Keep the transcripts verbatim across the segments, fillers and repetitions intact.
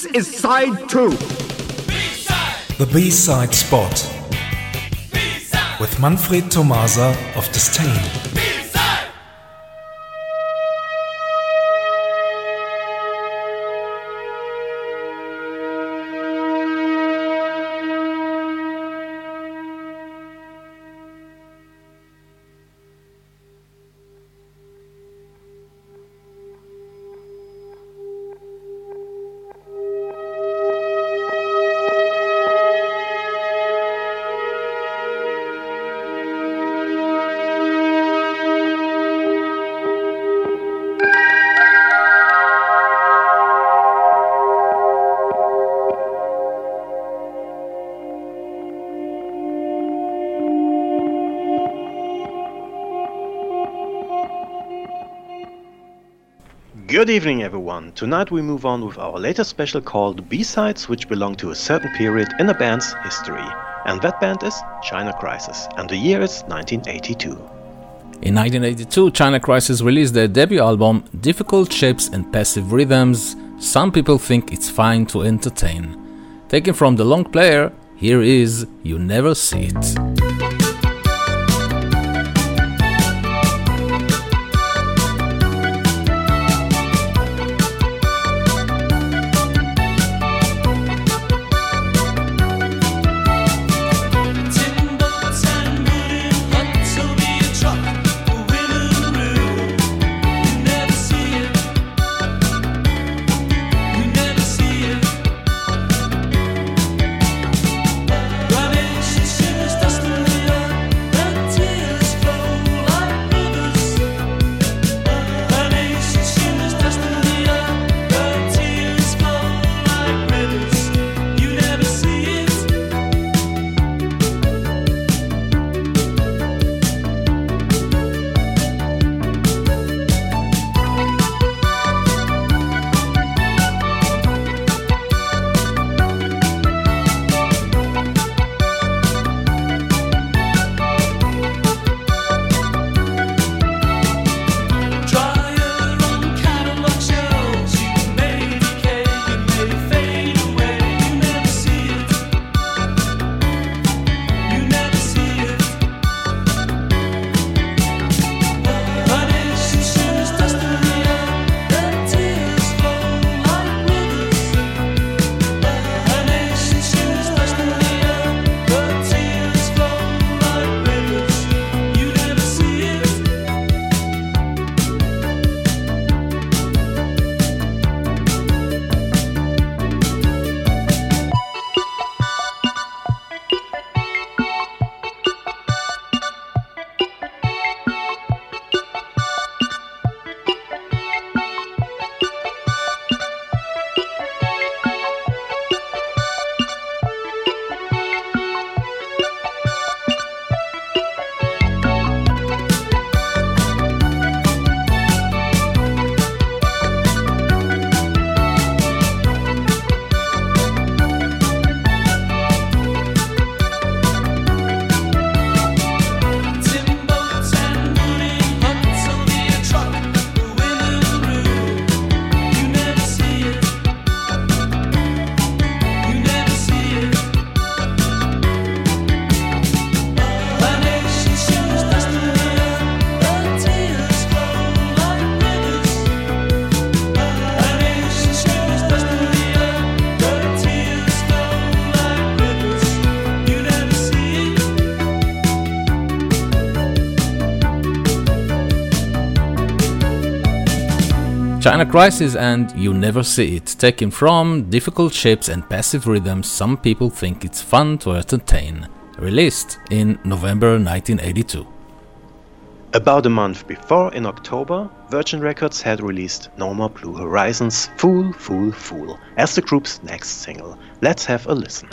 This is side two. B-side. The B-side spot. B-side. With Manfred Tomasa of Disdain. Good evening everyone, tonight we move on with our latest special called B-Sides, which belong to a certain period in a band's history. And that band is China Crisis, and the year is nineteen eighty-two. In nineteen eighty-two, China Crisis released their debut album, Difficult Shapes and Passive Rhythms. Some people think it's fine to entertain. Taken from the long player, here is You Never See It. China Crisis and You Never See It, taken from Difficult Shapes and Passive Rhythms. Some people think it's fun to entertain. Released in November nineteen eighty-two. About a month before, in October, Virgin Records had released No More Blue Horizons' Fool, Fool, Fool as the group's next single. Let's have a listen.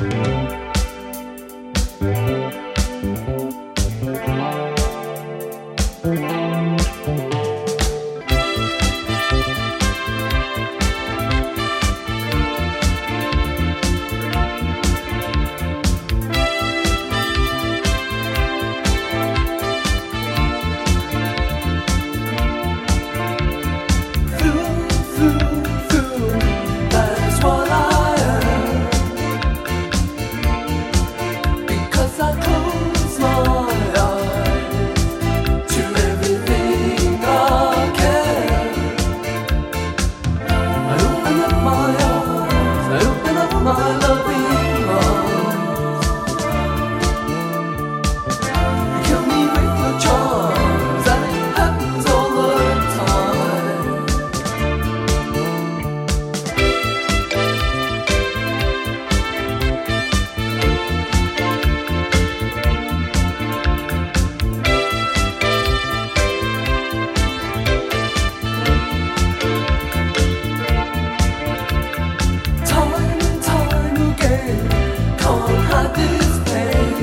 That is what I I open up my loving arms. You kill me with your charms, and it happens all the time. Time and time again, can't hide this pain.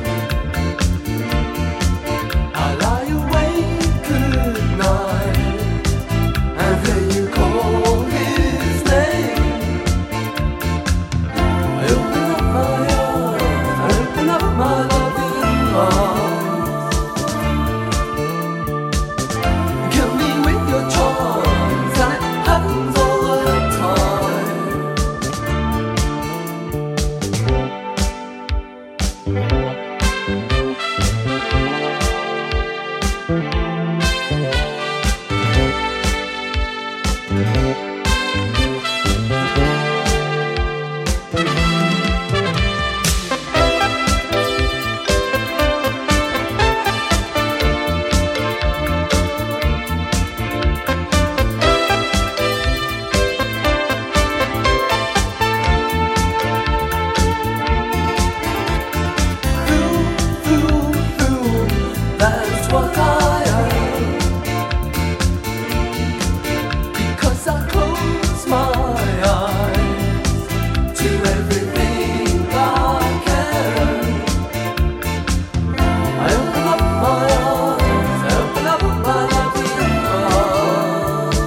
I lie awake at night and hear you call his name. I open up my arms, I open up my loving arms. You kill me with your charms, and it happens all the time. Fool, fool, fool, that's what I am. Because I close my eyes to everything I can. I open up my arms, I open up my loving arms.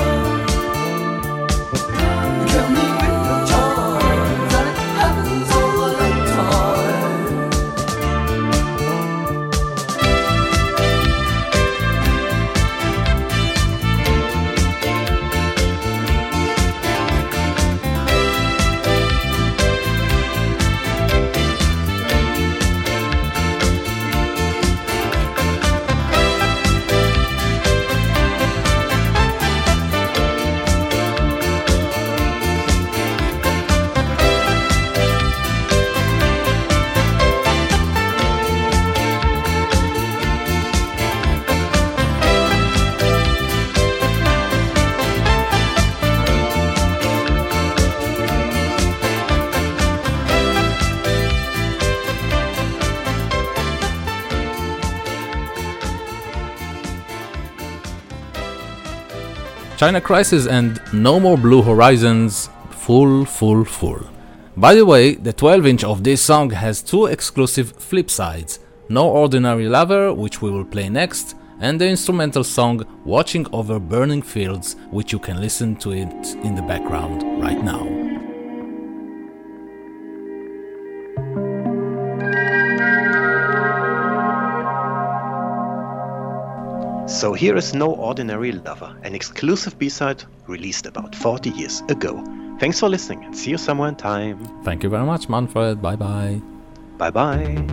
You kill me with your charms, and it happens all the time. China Crisis and No More Blue Horizons, full, full, full. By the way, the twelve inch of this song has two exclusive flip sides, No Ordinary Lover, which we will play next, and the instrumental song Watching Over Burning Fields, which you can listen to it in the background right now. So here is No Ordinary Lover, an exclusive B-side released about forty years ago. Thanks for listening and see you somewhere in time. Thank you very much, Manfred. Bye bye. Bye bye.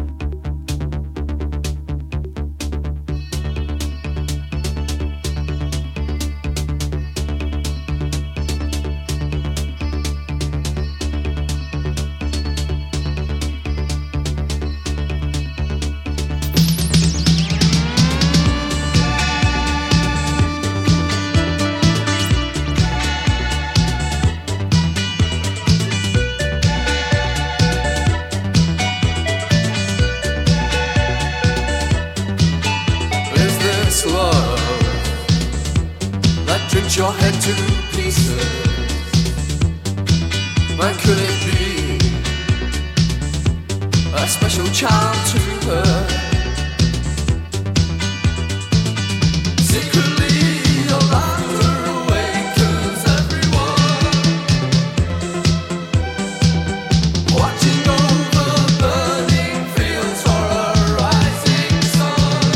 Your head to pieces. When could it be a special charm to her? Secretly, your laughter awakens everyone. Watching over burning fields for a rising sun.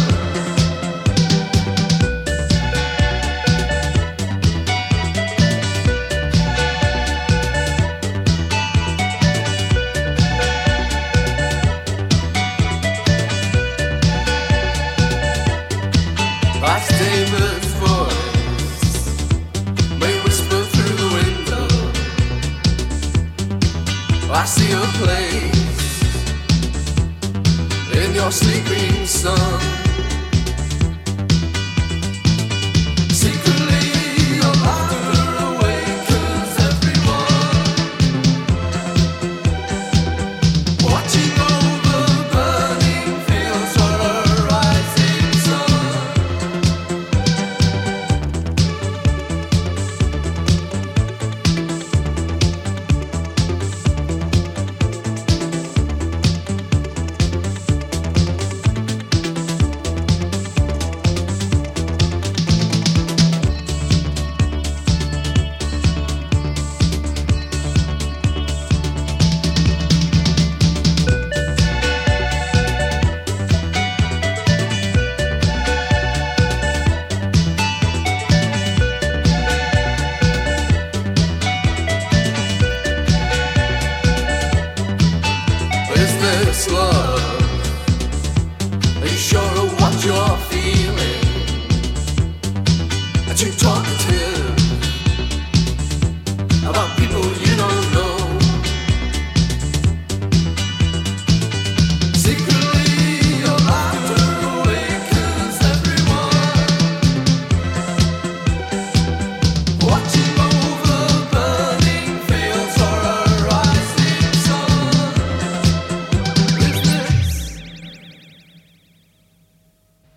I see a place in your sleeping sun. Secretly your laughter awakens everyone, watching over burning fields for a rising sun. Is this love? Are you sure of what you're feeling? That you talk